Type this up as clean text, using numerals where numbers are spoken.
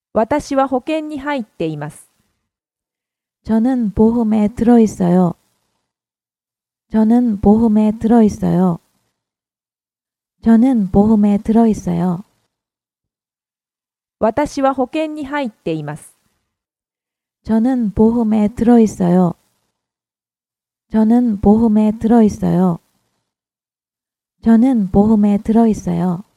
私は保険に入っています。 저는 보험에 들어있어요. 저는 보험에 들어있어요. 저는 보험에 들어있어요. 私は保険に入っています。 저는 보험에 들어있어요. 저는 보험에 들어있어요. 저는 보험에 들어있어요.